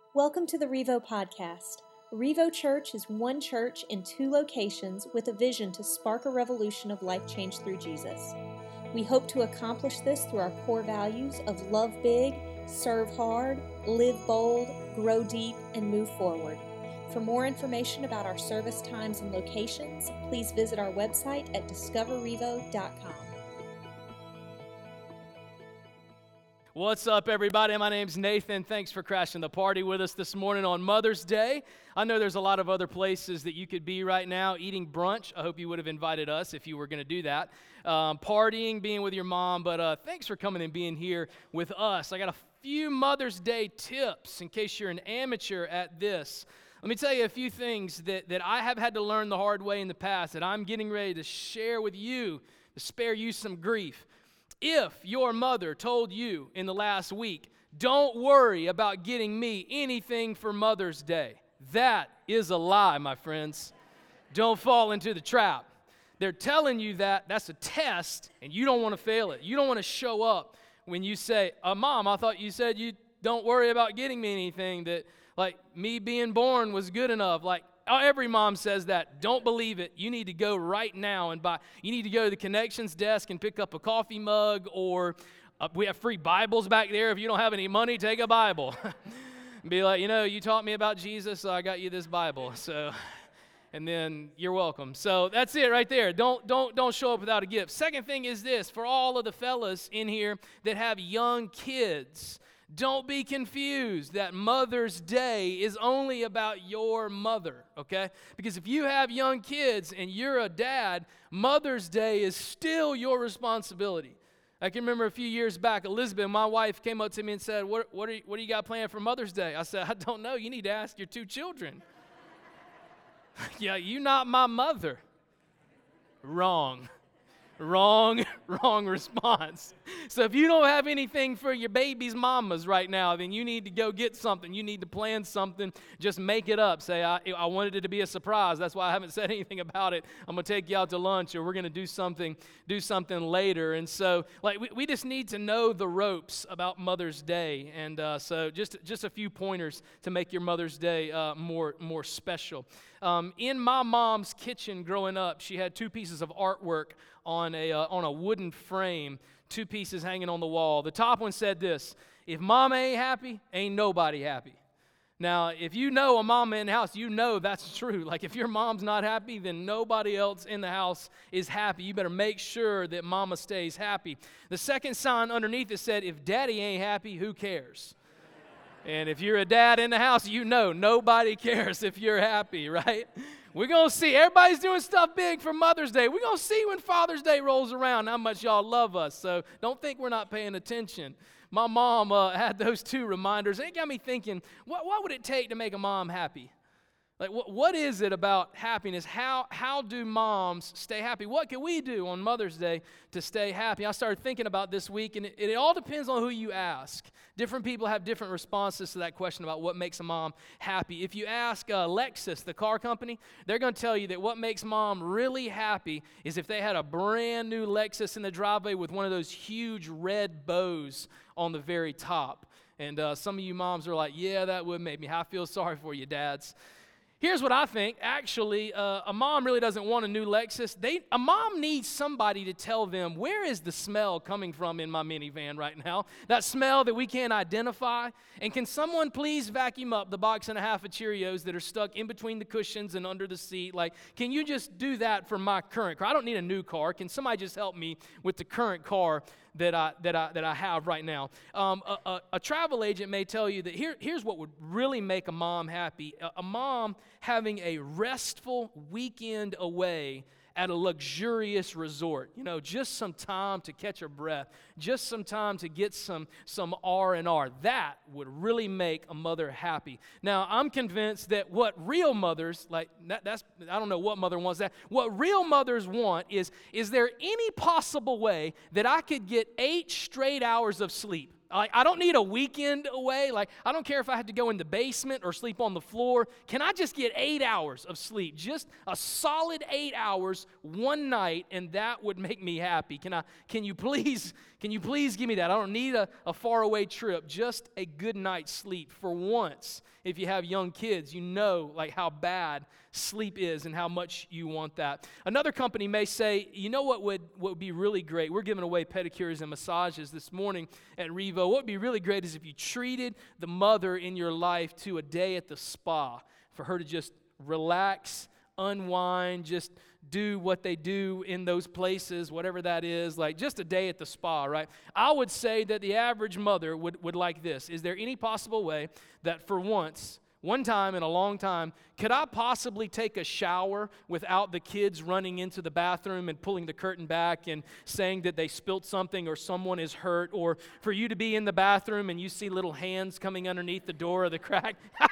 Welcome to the Revo Podcast. Revo Church is one church in two locations with a vision to spark a revolution of life change through Jesus. We hope to accomplish this through our core values of love big, serve hard, live bold, grow deep, and move forward. For more information about our service times and locations, please visit our website at discoverrevo.com. What's up, everybody? My name's Nathan. Thanks for crashing the party with us this morning on Mother's Day. I know there's a lot of other places that you could be right now eating brunch. I hope you would have invited us if you were going to do that. Partying, being with your mom, but thanks for coming and being here with us. I got a few Mother's Day tips in case you're an amateur at this. Let me tell you a few things that I have had to learn the hard way in the past that I'm getting ready to share with you to spare you some grief. If your mother told you in the last week, don't worry about getting me anything for Mother's Day, that is a lie, my friends. Don't fall into the trap. They're telling you that's a test, and you don't want to fail it. You don't want to show up when you say, Mom, I thought you said you don't worry about getting me anything, that like me being born was good enough. Like every mom says that. Don't believe it. You need to go right now and buy. You need to go to the connections desk and pick up a coffee mug, or we have free Bibles back there. If you don't have any money, take a Bible. Be like, you taught me about Jesus, so I got you this Bible. So, and then you're welcome. So that's it right there. Don't show up without a gift. Second thing is this: for all of the fellas in here that have young kids, don't be confused that Mother's Day is only about your mother, okay? Because if you have young kids and you're a dad, Mother's Day is still your responsibility. I can remember a few years back, Elizabeth, my wife, came up to me and said, what do you got planned for Mother's Day? I said, I don't know. You need to ask your two children. Yeah, you're not my mother. Wrong response. So if you don't have anything for your baby's mamas right now, then you need to go get something. You need to plan something. Just make it up. Say, I wanted it to be a surprise. That's why I haven't said anything about it. I'm going to take you out to lunch, or we're going to do something later. And so we just need to know the ropes about Mother's Day. And so just a few pointers to make your Mother's Day more special. In my mom's kitchen growing up, she had two pieces of artwork on a wooden frame, two pieces hanging on the wall. The top one said this: if mama ain't happy, ain't nobody happy. Now, if you know a mama in the house, you know that's true. Like if your mom's not happy, then nobody else in the house is happy. You better make sure that mama stays happy. The second sign underneath it said, if daddy ain't happy, who cares? And if you're a dad in the house, you know nobody cares if you're happy, right? We're going to see. Everybody's doing stuff big for Mother's Day. We're going to see when Father's Day rolls around how much y'all love us. So don't think we're not paying attention. My mom had those two reminders. It got me thinking, what would it take to make a mom happy? Like, what is it about happiness? How do moms stay happy? What can we do on Mother's Day to stay happy? I started thinking about this week, and it all depends on who you ask. Different people have different responses to that question about what makes a mom happy. If you ask Lexus, the car company, they're going to tell you that what makes mom really happy is if they had a brand new Lexus in the driveway with one of those huge red bows on the very top. And some of you moms are like, yeah, that would make me. I feel sorry for you, dads. Here's what I think. Actually, a mom really doesn't want a new Lexus. A mom needs somebody to tell them, where is the smell coming from in my minivan right now? That smell that we can't identify. And can someone please vacuum up the box and a half of Cheerios that are stuck in between the cushions and under the seat? Like, can you just do that for my current car? I don't need a new car. Can somebody just help me with the current car that I have right now? A travel agent may tell you that here's what would really make a mom happy. A mom having a restful weekend away at a luxurious resort. Just some time to catch her breath, just some time to get some R&R. That would really make a mother happy. Now, I'm convinced that what real mothers, I don't know what mother wants that. What real mothers want is there any possible way that I could get 8 straight hours of sleep? Like, I don't need a weekend away. Like, I don't care if I have to go in the basement or sleep on the floor. Can I just get 8 hours of sleep? Just a solid 8 hours one night, and that would make me happy. Can you please give me that? I don't need a faraway trip. Just a good night's sleep for once. If you have young kids, you know like how bad sleep is and how much you want that. Another company may say, you know what would be really great? We're giving away pedicures and massages this morning at Revo. What would be really great is if you treated the mother in your life to a day at the spa for her to just relax, unwind, just do what they do in those places, whatever that is, like just a day at the spa, right? I would say that the average mother would like this. Is there any possible way that for once, one time in a long time, could I possibly take a shower without the kids running into the bathroom and pulling the curtain back and saying that they spilt something or someone is hurt, or for you to be in the bathroom and you see little hands coming underneath the door or the crack?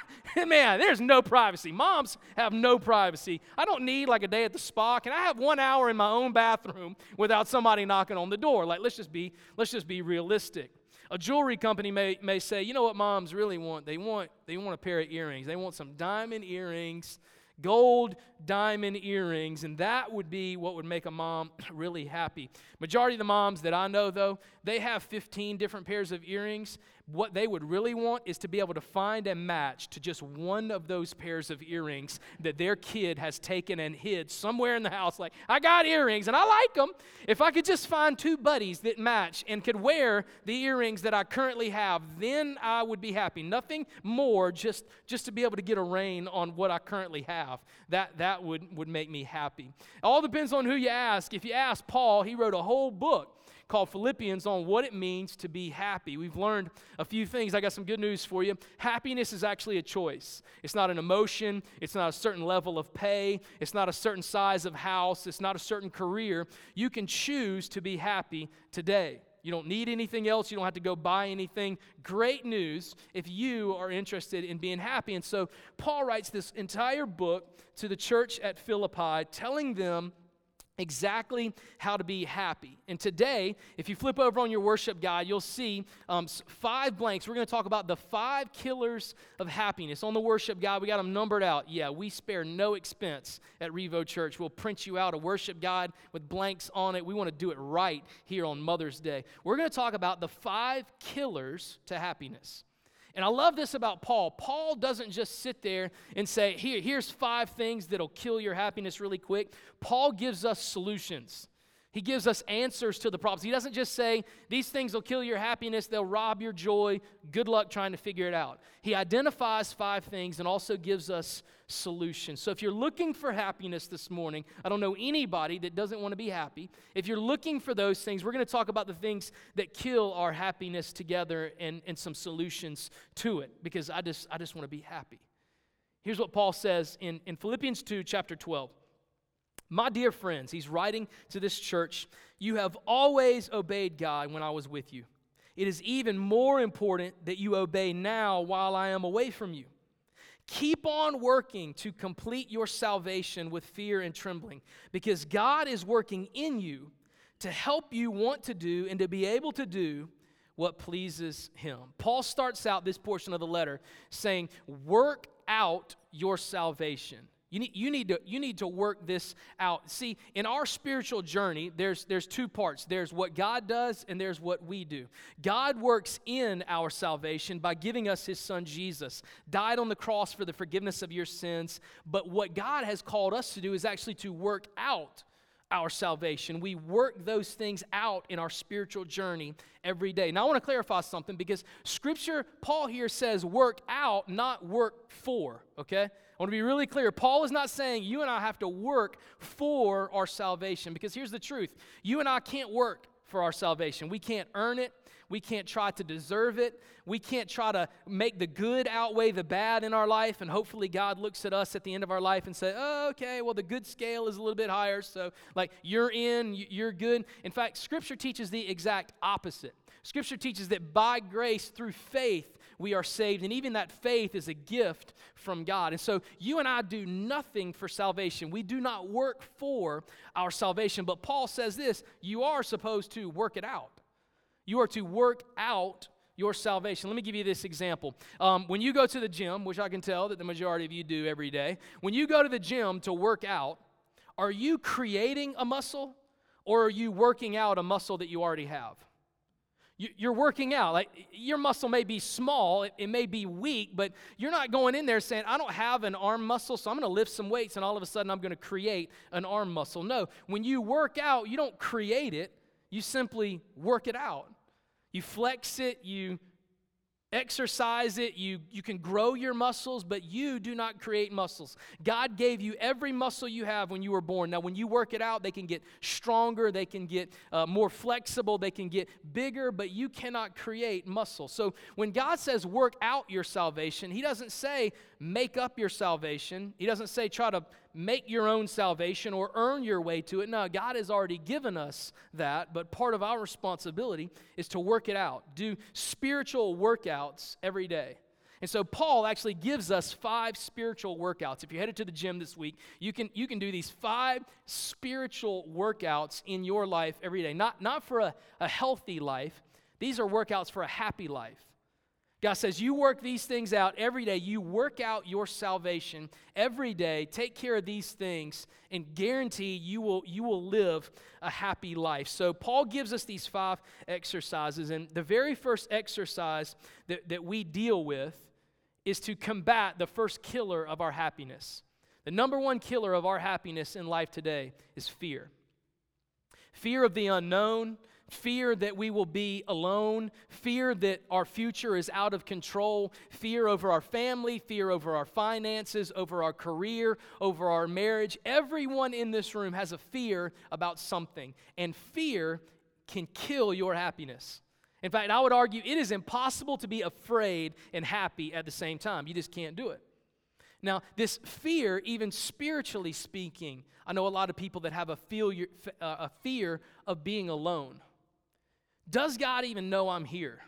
Man, there's no privacy. Moms have no privacy. I don't need like a day at the spa. Can I have 1 hour in my own bathroom without somebody knocking on the door? Like, let's just be realistic. A jewelry company may say, you know what moms really want? They want a pair of earrings. They want some diamond earrings, gold diamond earrings, and that would be what would make a mom really happy. Majority of the moms that I know, though, they have 15 different pairs of earrings. What they would really want is to be able to find a match to just one of those pairs of earrings that their kid has taken and hid somewhere in the house. Like, I got earrings, and I like them. If I could just find 2 buddies that match and could wear the earrings that I currently have, then I would be happy. Nothing more, just to be able to get a rein on what I currently have. That would make me happy. It all depends on who you ask. If you ask Paul, he wrote a whole book called Philippians on what it means to be happy. We've learned a few things. I got some good news for you. Happiness is actually a choice. It's not an emotion. It's not a certain level of pay. It's not a certain size of house. It's not a certain career. You can choose to be happy today. You don't need anything else. You don't have to go buy anything. Great news if you are interested in being happy. And so Paul writes this entire book to the church at Philippi, telling them exactly how to be happy. And today, if you flip over on your worship guide, you'll see 5 blanks. We're going to talk about the 5 killers of happiness. On the worship guide, we got them numbered out. Yeah, we spare no expense at Revo Church. We'll print you out a worship guide with blanks on it. We want to do it right here on Mother's Day. We're going to talk about the 5 killers to happiness. And I love this about Paul. Paul doesn't just sit there and say, here's 5 things that'll kill your happiness really quick. Paul gives us solutions. He gives us answers to the problems. He doesn't just say, these things will kill your happiness, they'll rob your joy, good luck trying to figure it out. He identifies 5 things and also gives us solutions. So if you're looking for happiness this morning, I don't know anybody that doesn't want to be happy. If you're looking for those things, we're going to talk about the things that kill our happiness together and some solutions to it, because I just want to be happy. Here's what Paul says in Philippians 2, chapter 12. My dear friends, he's writing to this church, you have always obeyed God when I was with you. It is even more important that you obey now while I am away from you. Keep on working to complete your salvation with fear and trembling, because God is working in you to help you want to do and to be able to do what pleases Him. Paul starts out this portion of the letter saying, work out your salvation. You need to work this out. See, in our spiritual journey, there's 2 parts. There's what God does and there's what we do. God works in our salvation by giving us His Son Jesus, died on the cross for the forgiveness of your sins. But what God has called us to do is actually to work out our salvation. We work those things out in our spiritual journey every day. Now, I want to clarify something, because Scripture, Paul here says work out, not work for, okay? I want to be really clear. Paul is not saying you and I have to work for our salvation, because here's the truth. You and I can't work for our salvation. We can't earn it. We can't try to deserve it. We can't try to make the good outweigh the bad in our life, and hopefully God looks at us at the end of our life and say, oh, okay, well, the good scale is a little bit higher, so like you're in, you're good. In fact, Scripture teaches the exact opposite. Scripture teaches that by grace through faith we are saved, and even that faith is a gift from God. And so you and I do nothing for salvation. We do not work for our salvation. But Paul says this, you are supposed to work it out. You are to work out your salvation. Let me give you this example. When you go to the gym, which I can tell that the majority of you do every day, when you go to the gym to work out, are you creating a muscle or are you working out a muscle that you already have? You're working out. Like, your muscle may be small, it may be weak, but you're not going in there saying, I don't have an arm muscle, so I'm going to lift some weights and all of a sudden I'm going to create an arm muscle. No, when you work out, you don't create it, you simply work it out. You flex it, you exercise it, you can grow your muscles, but you do not create muscles. God gave you every muscle you have when you were born. Now, when you work it out, they can get stronger, they can get more flexible, they can get bigger, but you cannot create muscle. So when God says work out your salvation, He doesn't say make up your salvation. He doesn't say try to make your own salvation or earn your way to it. No, God has already given us that, but part of our responsibility is to work it out, do spiritual workouts every day. And so Paul actually gives us 5 spiritual workouts. If you're headed to the gym this week, you can do these 5 spiritual workouts in your life every day. Not for a healthy life. These are workouts for a happy life. God says, you work these things out every day. You work out your salvation every day. Take care of these things and guarantee you will live a happy life. So Paul gives us these 5 exercises. And the very first exercise that we deal with is to combat the first killer of our happiness. The number one killer of our happiness in life today is fear. Fear of the unknown. Fear that we will be alone, fear that our future is out of control, fear over our family, fear over our finances, over our career, over our marriage. Everyone in this room has a fear about something, and fear can kill your happiness. In fact, I would argue it is impossible to be afraid and happy at the same time. You just can't do it. Now, this fear, even spiritually speaking, I know a lot of people that have a fear of being alone. Does God even know I'm here?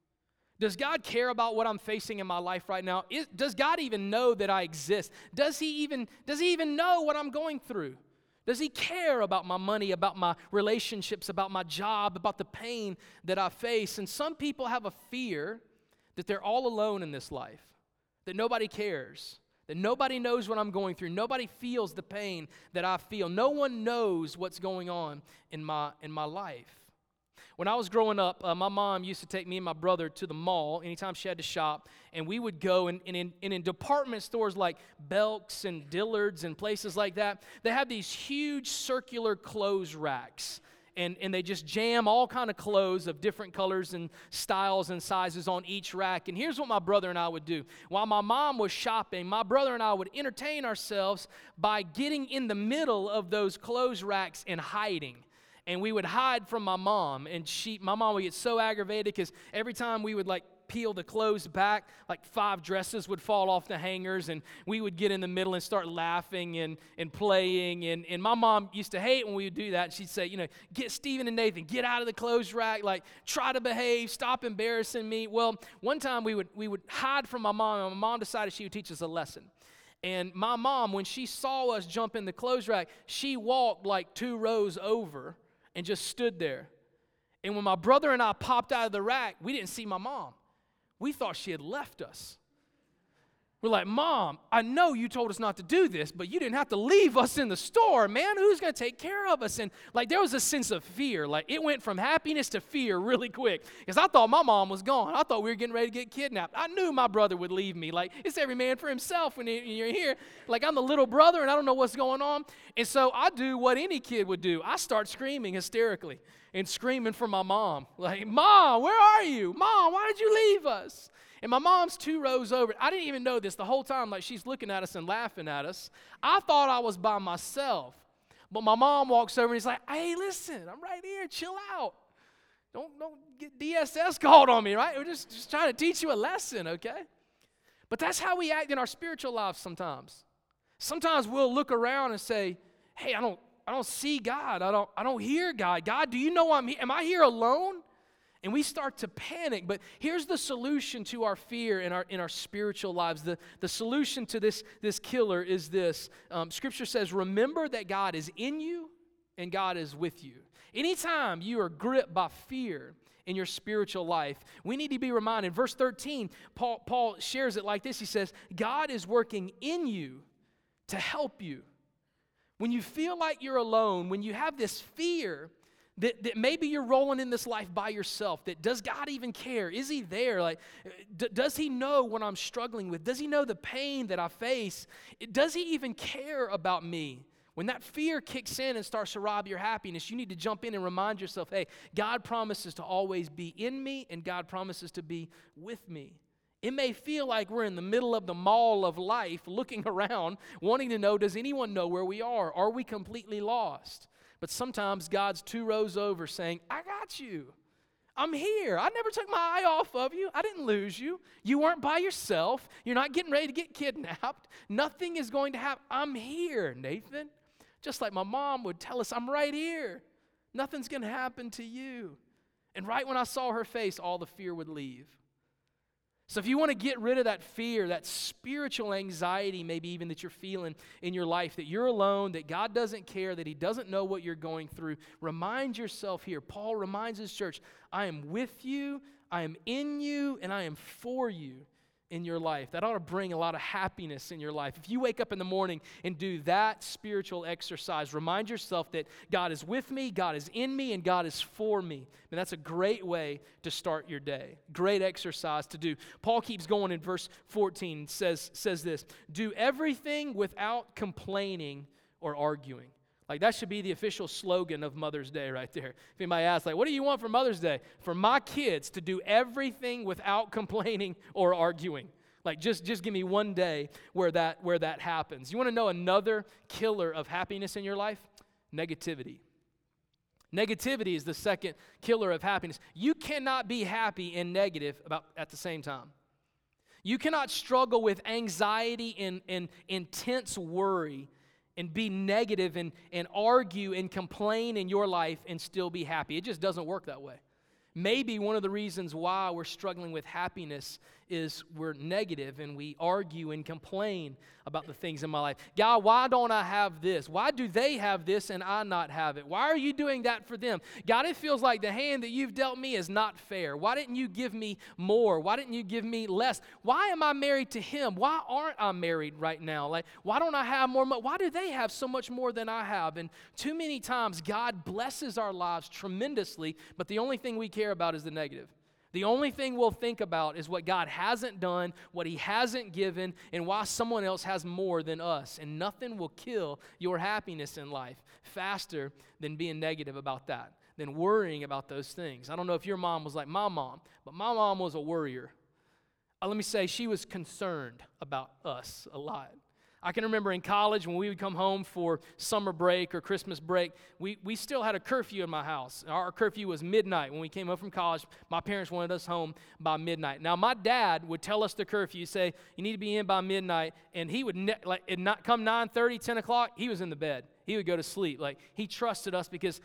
Does God care about what I'm facing in my life right now? Does God even know that I exist? Does He even know what I'm going through? Does He care about my money, about my relationships, about my job, about the pain that I face? And some people have a fear that they're all alone in this life, that nobody cares, that nobody knows what I'm going through. Nobody feels the pain that I feel. No one knows what's going on in my life. When I was growing up, my mom used to take me and my brother to the mall anytime she had to shop, and we would go, and in department stores like Belk's and Dillard's and places like that, they have these huge circular clothes racks, and they just jam all kind of clothes of different colors and styles and sizes on each rack. And here's what my brother and I would do. While my mom was shopping, my brother and I would entertain ourselves by getting in the middle of those clothes racks and hiding. And we would hide from my mom, and my mom would get so aggravated because every time we would peel the clothes back, 5 dresses would fall off the hangers, and we would get in the middle and start laughing and playing. And my mom used to hate when we would do that. She'd say, get Stephen and Nathan, get out of the clothes rack, try to behave, stop embarrassing me. Well, one time we would hide from my mom, and my mom decided she would teach us a lesson. And my mom, when she saw us jump in the clothes rack, she walked 2 rows over and just stood there. And when my brother and I popped out of the rack, we didn't see my mom. We thought she had left us. We're like, Mom, I know you told us not to do this, but you didn't have to leave us in the store, man. Who's going to take care of us? And there was a sense of fear. It went from happiness to fear really quick because I thought my mom was gone. I thought we were getting ready to get kidnapped. I knew my brother would leave me. It's every man for himself when you're here. I'm the little brother and I don't know what's going on. And so I do what any kid would do. I start screaming hysterically and screaming for my mom. Mom, where are you? Mom, why did you leave us? And my mom's 2 rows over. I didn't even know this the whole time. She's looking at us and laughing at us. I thought I was by myself. But my mom walks over and he's like, hey, listen, I'm right here. Chill out. Don't get DSS called on me, right? We're just trying to teach you a lesson, okay? But that's how we act in our spiritual lives sometimes. Sometimes we'll look around and say, hey, I don't see God. I don't hear God. God, do you know I'm here? Am I here alone? And we start to panic. But here's the solution to our fear in our spiritual lives. The solution to this killer is this. Scripture says, remember that God is in you and God is with you. Anytime you are gripped by fear, in your spiritual life, we need to be reminded. Verse 13, Paul shares it like this. He says, God is working in you to help you. When you feel like you're alone, when you have this fear that maybe you're rolling in this life by yourself, that does God even care? Is he there? Like, does he know what I'm struggling with? Does he know the pain that I face? Does he even care about me? When that fear kicks in and starts to rob your happiness, you need to jump in and remind yourself, hey, God promises to always be in me, and God promises to be with me. It may feel like we're in the middle of the mall of life, looking around, wanting to know, does anyone know where we are? Are we completely lost? But sometimes God's 2 rows over saying, I got you. I'm here. I never took my eye off of you. I didn't lose you. You weren't by yourself. You're not getting ready to get kidnapped. Nothing is going to happen. I'm here, Nathan. Just like my mom would tell us, I'm right here. Nothing's going to happen to you. And right when I saw her face, all the fear would leave. So if you want to get rid of that fear, that spiritual anxiety maybe even that you're feeling in your life, that you're alone, that God doesn't care, that he doesn't know what you're going through, remind yourself here. Paul reminds his church, I am with you, I am in you, and I am for you in your life. That ought to bring a lot of happiness in your life. If you wake up in the morning and do that spiritual exercise, remind yourself that God is with me, God is in me, and God is for me. And that's a great way to start your day. Great exercise to do. Paul keeps going in verse 14, says this, do everything without complaining or arguing. Like, that should be the official slogan of Mother's Day right there. If anybody asks, like, what do you want for Mother's Day? For my kids to do everything without complaining or arguing. Like, just give me one day where that happens. You want to know another killer of happiness in your life? Negativity. Negativity is the second killer of happiness. You cannot be happy and negative at the same time. You cannot struggle with anxiety and intense worry and be negative and argue and complain in your life and still be happy. It just doesn't work that way. Maybe one of the reasons why we're struggling with happiness is we're negative and we argue and complain about the things in my life. God, why don't I have this? Why do they have this and I not have it? Why are you doing that for them? God, it feels like the hand that you've dealt me is not fair. Why didn't you give me more? Why didn't you give me less? Why am I married to him? Why aren't I married right now? Like, why don't I have more money? Why do they have so much more than I have? And too many times God blesses our lives tremendously, but the only thing we care about is the negative. The only thing we'll think about is what God hasn't done, what he hasn't given, and why someone else has more than us. And nothing will kill your happiness in life faster than being negative about that, than worrying about those things. I don't know if your mom was like my mom, but my mom was a worrier. Let me say, she was concerned about us a lot. I can remember in college when we would come home for summer break or Christmas break, we still had a curfew in my house. Our curfew was midnight. When we came home from college, my parents wanted us home by midnight. Now, my dad would tell us the curfew, say, you need to be in by midnight, and he would not come 9:30, 10 o'clock, he was in the bed. He would go to sleep. Like, he trusted us because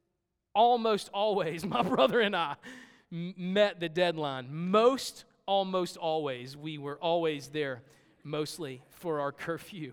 almost always my brother and I met the deadline. Almost always, we were always there. Mostly for our curfew.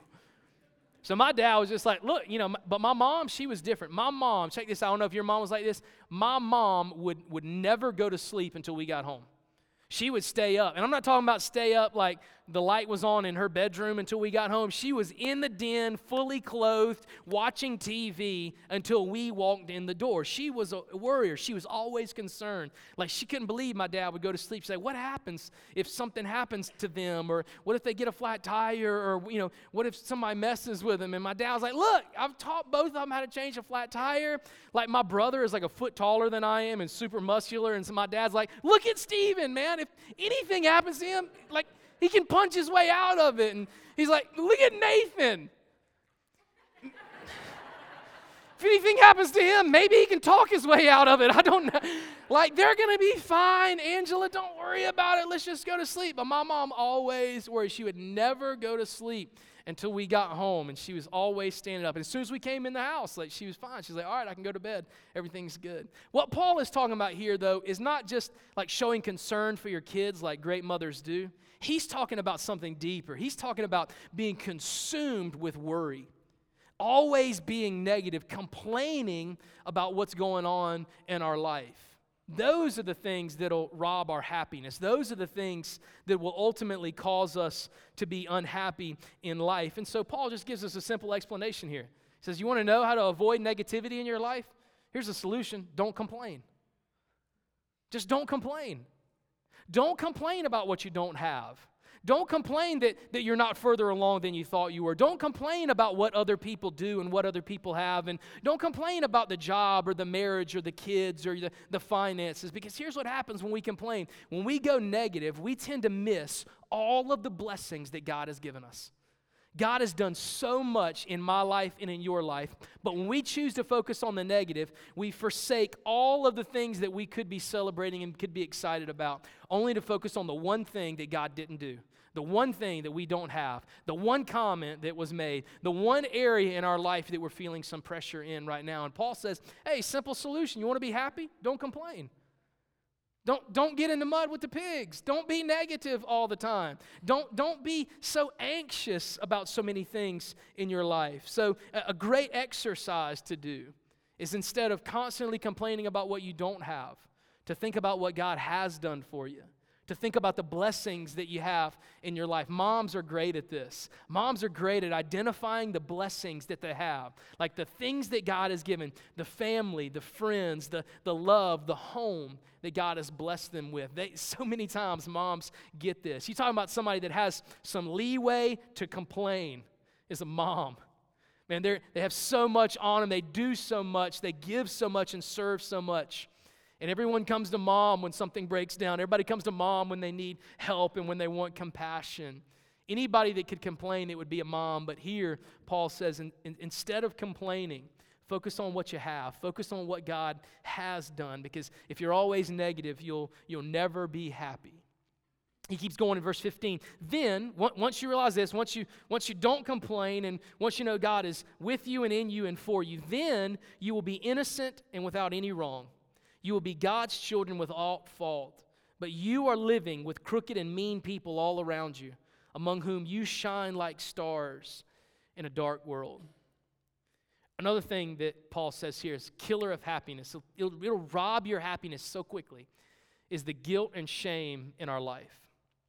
So my dad was just like, look, but my mom, she was different. My mom, check this out, I don't know if your mom was like this, my mom would never go to sleep until we got home. She would stay up. And I'm not talking about stay up like the light was on in her bedroom until we got home. She was in the den, fully clothed, watching TV until we walked in the door. She was a worrier. She was always concerned. Like, she couldn't believe my dad would go to sleep. She'd say, what happens if something happens to them? Or what if they get a flat tire? Or, what if somebody messes with them? And my dad was like, look, I've taught both of them how to change a flat tire. Like, my brother is like a foot taller than I am and super muscular. And so my dad's like, look at Steven, man. If anything happens to him, like, he can punch his way out of it. And he's like, look at Nathan. If anything happens to him, maybe he can talk his way out of it. I don't know. Like, they're going to be fine. Angela, don't worry about it. Let's just go to sleep. But my mom always worried. She would never go to sleep until we got home. And she was always standing up. And as soon as we came in the house, like, she was fine. She's like, all right, I can go to bed. Everything's good. What Paul is talking about here, though, is not just like showing concern for your kids like great mothers do. He's talking about something deeper. He's talking about being consumed with worry. Always being negative, complaining about what's going on in our life. Those are the things that'll rob our happiness. Those are the things that will ultimately cause us to be unhappy in life. And so Paul just gives us a simple explanation here. He says, you want to know how to avoid negativity in your life? Here's a solution. Don't complain. Just don't complain. Don't complain about what you don't have. Don't complain that you're not further along than you thought you were. Don't complain about what other people do and what other people have. And don't complain about the job or the marriage or the kids or the finances. Because here's what happens when we complain. When we go negative, we tend to miss all of the blessings that God has given us. God has done so much in my life and in your life, but when we choose to focus on the negative, we forsake all of the things that we could be celebrating and could be excited about, only to focus on the one thing that God didn't do, the one thing that we don't have, the one comment that was made, the one area in our life that we're feeling some pressure in right now. And Paul says, hey, simple solution. You want to be happy? Don't complain. Don't get in the mud with the pigs. Don't be negative all the time. Don't be so anxious about so many things in your life. So a great exercise to do is, instead of constantly complaining about what you don't have, to think about what God has done for you, to think about the blessings that you have in your life. Moms are great at this. Moms are great at identifying the blessings that they have, like the things that God has given, the family, the friends, the love, the home that God has blessed them with. So many times moms get this. You're talking about somebody that has some leeway to complain is a mom. Man, they have so much on them. They do so much. They give so much and serve so much. And everyone comes to mom when something breaks down. Everybody comes to mom when they need help and when they want compassion. Anybody that could complain, it would be a mom. But here, Paul says, instead of complaining, focus on what you have. Focus on what God has done. Because if you're always negative, you'll never be happy. He keeps going in verse 15. Then, once you realize this, once you don't complain, and once you know God is with you and in you and for you, then you will be innocent and without any wrong. You will be God's children without fault, but you are living with crooked and mean people all around you, among whom you shine like stars in a dark world. Another thing that Paul says here is killer of happiness. It'll rob your happiness so quickly, is the guilt and shame in our life.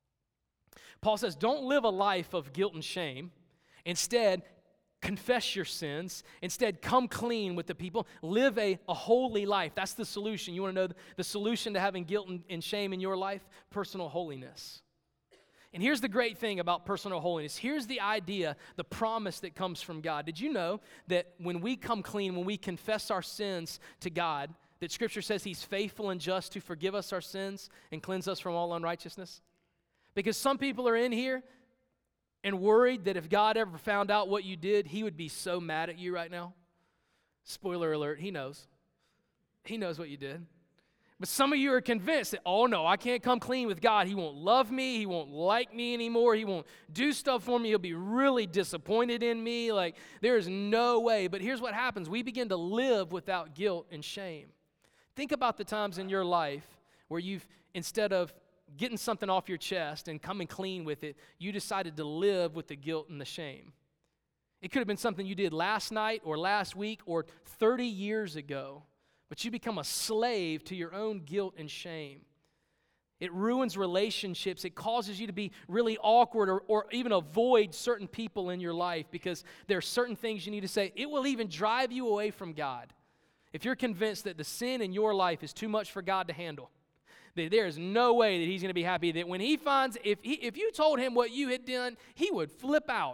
Paul says, don't live a life of guilt and shame. Instead, confess your sins. Instead, come clean with the people. Live a holy life. That's the solution. You want to know the solution to having guilt and shame in your life? Personal holiness. And here's the great thing about personal holiness. Here's the idea, the promise that comes from God. Did you know that when we come clean, when we confess our sins to God, that Scripture says He's faithful and just to forgive us our sins and cleanse us from all unrighteousness? Because some people are in here and worried that if God ever found out what you did, He would be so mad at you right now. Spoiler alert, He knows. He knows what you did. But some of you are convinced that, oh no, I can't come clean with God. He won't love me. He won't like me anymore. He won't do stuff for me. He'll be really disappointed in me. Like, there is no way. But here's what happens. We begin to live without guilt and shame. Think about the times in your life where you've, instead of getting something off your chest and coming clean with it, you decided to live with the guilt and the shame. It could have been something you did last night or last week or 30 years ago, but you become a slave to your own guilt and shame. It ruins relationships. It causes you to be really awkward or even avoid certain people in your life because there are certain things you need to say. It will even drive you away from God. If you're convinced that the sin in your life is too much for God to handle, that there is no way that He's going to be happy, that when He finds, if you told Him what you had done, He would flip out.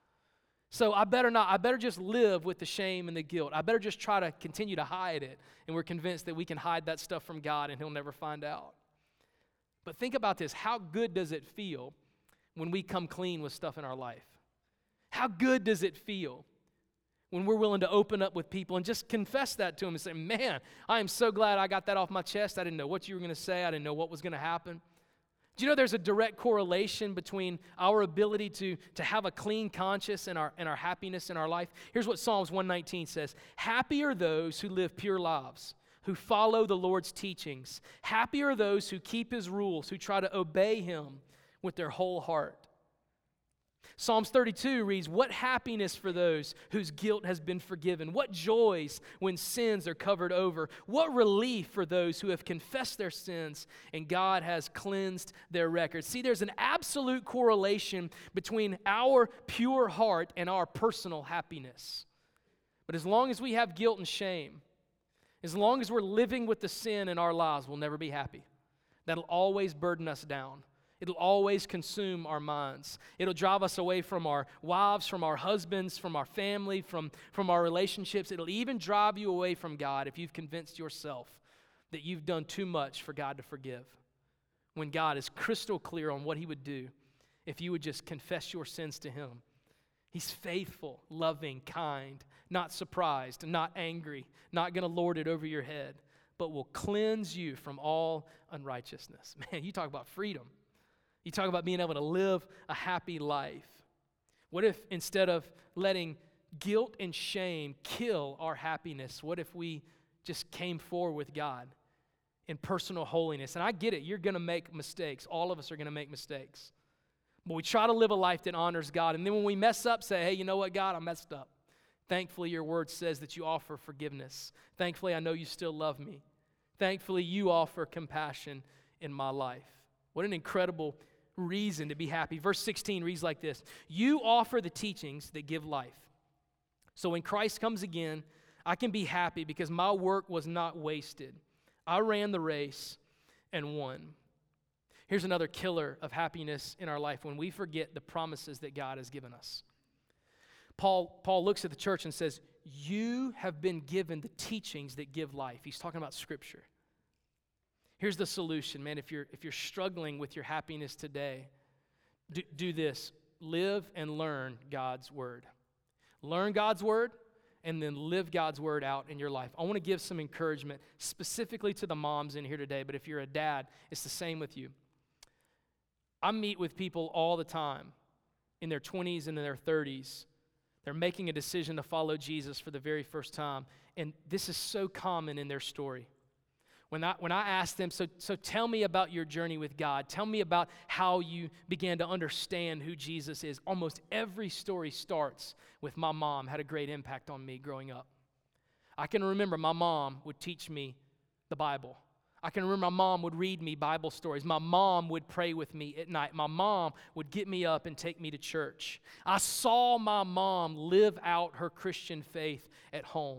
So I better just live with the shame and the guilt. I better just try to continue to hide it. And we're convinced that we can hide that stuff from God and He'll never find out. But think about this. How good does it feel when we come clean with stuff in our life? How good does it feel when we're willing to open up with people and just confess that to them and say, man, I am so glad I got that off my chest. I didn't know what you were going to say. I didn't know what was going to happen. Do you know there's a direct correlation between our ability to have a clean conscience and our happiness in our life? Here's what Psalms 119 says. Happy are those who live pure lives, who follow the Lord's teachings. Happy are those who keep His rules, who try to obey Him with their whole heart. Psalms 32 reads, "What happiness for those whose guilt has been forgiven. What joys when sins are covered over. What relief for those who have confessed their sins and God has cleansed their records." See, there's an absolute correlation between our pure heart and our personal happiness. But as long as we have guilt and shame, as long as we're living with the sin in our lives, we'll never be happy. That'll always burden us down. It'll always consume our minds. It'll drive us away from our wives, from our husbands, from our family, from our relationships. It'll even drive you away from God if you've convinced yourself that you've done too much for God to forgive, when God is crystal clear on what He would do if you would just confess your sins to Him. He's faithful, loving, kind, not surprised, not angry, not going to lord it over your head, but will cleanse you from all unrighteousness. Man, you talk about freedom. You talk about being able to live a happy life. What if instead of letting guilt and shame kill our happiness, what if we just came forward with God in personal holiness? And I get it, you're going to make mistakes. All of us are going to make mistakes. But we try to live a life that honors God. And then when we mess up, say, hey, you know what, God, I messed up. Thankfully, your word says that you offer forgiveness. Thankfully, I know you still love me. Thankfully, you offer compassion in my life. What an incredible reason to be happy. Verse 16 reads like this: "You offer the teachings that give life. So when Christ comes again, I can be happy because my work was not wasted. I ran the race and won." Here's another killer of happiness in our life: when we forget the promises that God has given us. Paul looks at the church and says, you have been given the teachings that give life. He's talking about Scripture. Here's the solution, man. If you're struggling with your happiness today, do this. Live and learn God's Word. Learn God's Word and then live God's Word out in your life. I want to give some encouragement specifically to the moms in here today, but if you're a dad, it's the same with you. I meet with people all the time in their 20s and in their 30s. They're making a decision to follow Jesus for the very first time, and this is so common in their story. When I ask them, so tell me about your journey with God. Tell me about how you began to understand who Jesus is. Almost every story starts with my mom had a great impact on me growing up. I can remember my mom would teach me the Bible. I can remember my mom would read me Bible stories. My mom would pray with me at night. My mom would get me up and take me to church. I saw my mom live out her Christian faith at home.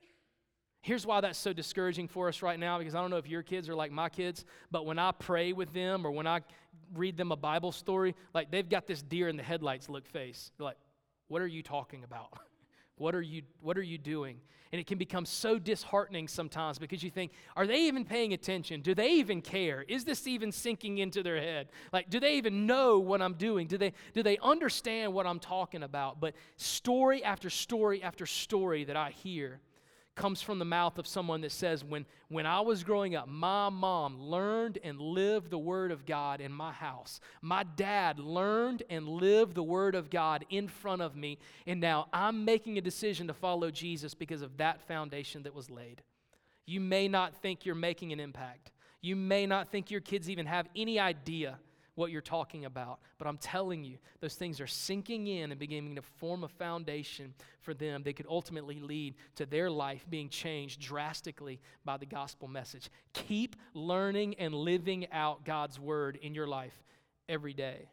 Here's why that's so discouraging for us right now, because I don't know if your kids are like my kids, but when I pray with them or when I read them a Bible story, like they've got this deer in the headlights look face. They're like, what are you talking about? What are you doing? And it can become so disheartening sometimes because you think, are they even paying attention? Do they even care? Is this even sinking into their head? Like, do they even know what I'm doing? Do they understand what I'm talking about? But story after story after story that I hear comes from the mouth of someone that says, when I was growing up, my mom learned and lived the Word of God in my house. My dad learned and lived the Word of God in front of me, and now I'm making a decision to follow Jesus because of that foundation that was laid. You may not think you're making an impact. You may not think your kids even have any idea what you're talking about, but I'm telling you, those things are sinking in and beginning to form a foundation for them that could ultimately lead to their life being changed drastically by the gospel message. Keep learning and living out God's Word in your life every day.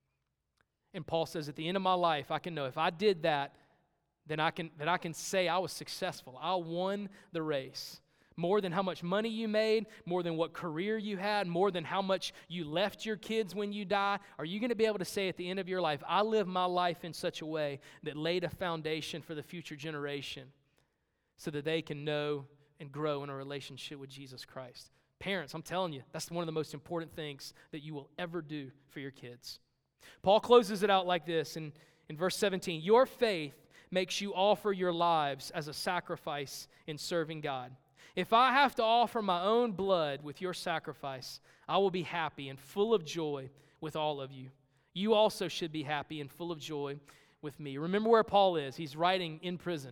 And Paul says, at the end of my life, I can know if I did that, then I can say I was successful. I won the race. More than how much money you made, more than what career you had, more than how much you left your kids when you die, are you going to be able to say at the end of your life, I lived my life in such a way that laid a foundation for the future generation so that they can know and grow in a relationship with Jesus Christ? Parents, I'm telling you, that's one of the most important things that you will ever do for your kids. Paul closes it out like this in verse 17. Your faith makes you offer your lives as a sacrifice in serving God. If I have to offer my own blood with your sacrifice, I will be happy and full of joy with all of you. You also should be happy and full of joy with me. Remember where Paul is. He's writing in prison.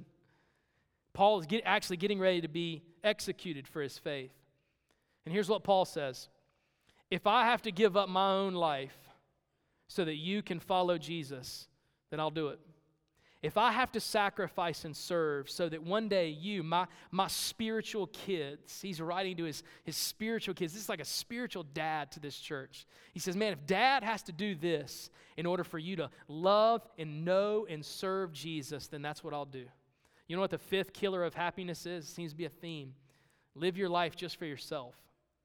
Paul is actually getting ready to be executed for his faith. And here's what Paul says. If I have to give up my own life so that you can follow Jesus, then I'll do it. If I have to sacrifice and serve so that one day you, my spiritual kids, he's writing to his spiritual kids. This is like a spiritual dad to this church. He says, man, if dad has to do this in order for you to love and know and serve Jesus, then that's what I'll do. You know what the fifth killer of happiness is? It seems to be a theme. Live your life just for yourself.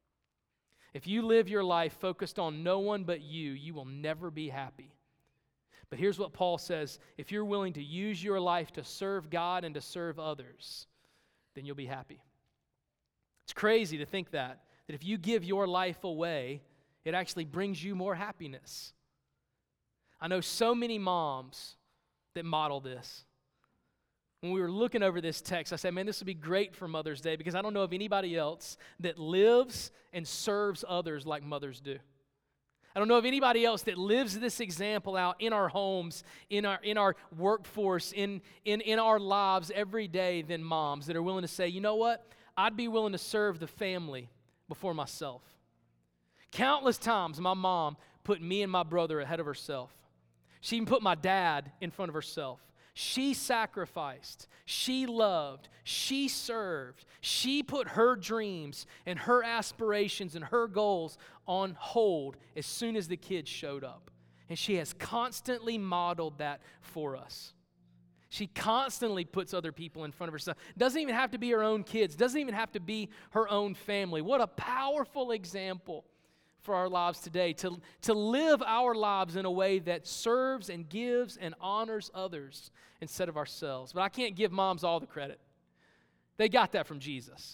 If you live your life focused on no one but you will never be happy. But here's what Paul says, if you're willing to use your life to serve God and to serve others, then you'll be happy. It's crazy to think that if you give your life away, it actually brings you more happiness. I know so many moms that model this. When we were looking over this text, I said, man, this would be great for Mother's Day because I don't know of anybody else that lives and serves others like mothers do. I don't know of anybody else that lives this example out in our homes, in our workforce, in our lives every day than moms that are willing to say, you know what? I'd be willing to serve the family before myself. Countless times my mom put me and my brother ahead of herself. She even put my dad in front of herself. She sacrificed, she loved, she served, she put her dreams and her aspirations and her goals on hold as soon as the kids showed up. And she has constantly modeled that for us. She constantly puts other people in front of herself. Doesn't even have to be her own kids, doesn't even have to be her own family. What a powerful example for our lives today, to live our lives in a way that serves and gives and honors others instead of ourselves. But I can't give moms all the credit. They got that from Jesus.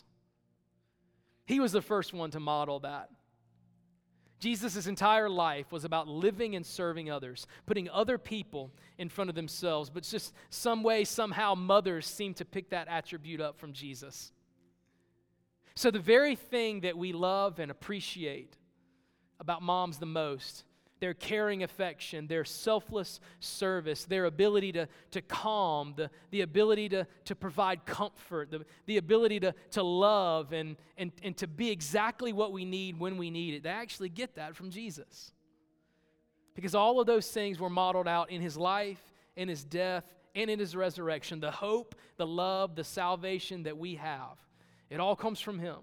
He was the first one to model that. Jesus' entire life was about living and serving others, putting other people in front of themselves, but just some way, somehow, mothers seem to pick that attribute up from Jesus. So the very thing that we love and appreciate about moms the most, their caring affection, their selfless service, their ability to calm, the ability to provide comfort, the ability to love and to be exactly what we need when we need it. They actually get that from Jesus. Because all of those things were modeled out in his life, in his death, and in his resurrection. The hope, the love, the salvation that we have, it all comes from him.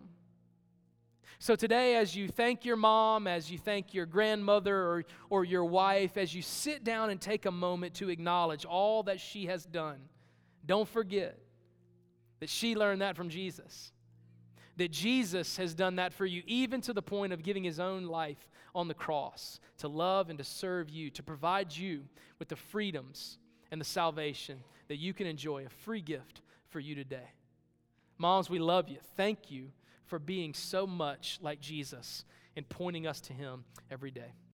So today, as you thank your mom, as you thank your grandmother or your wife, as you sit down and take a moment to acknowledge all that she has done, don't forget that she learned that from Jesus. That Jesus has done that for you, even to the point of giving his own life on the cross to love and to serve you, to provide you with the freedoms and the salvation that you can enjoy, a free gift for you today. Moms, we love you. Thank you for being so much like Jesus and pointing us to him every day.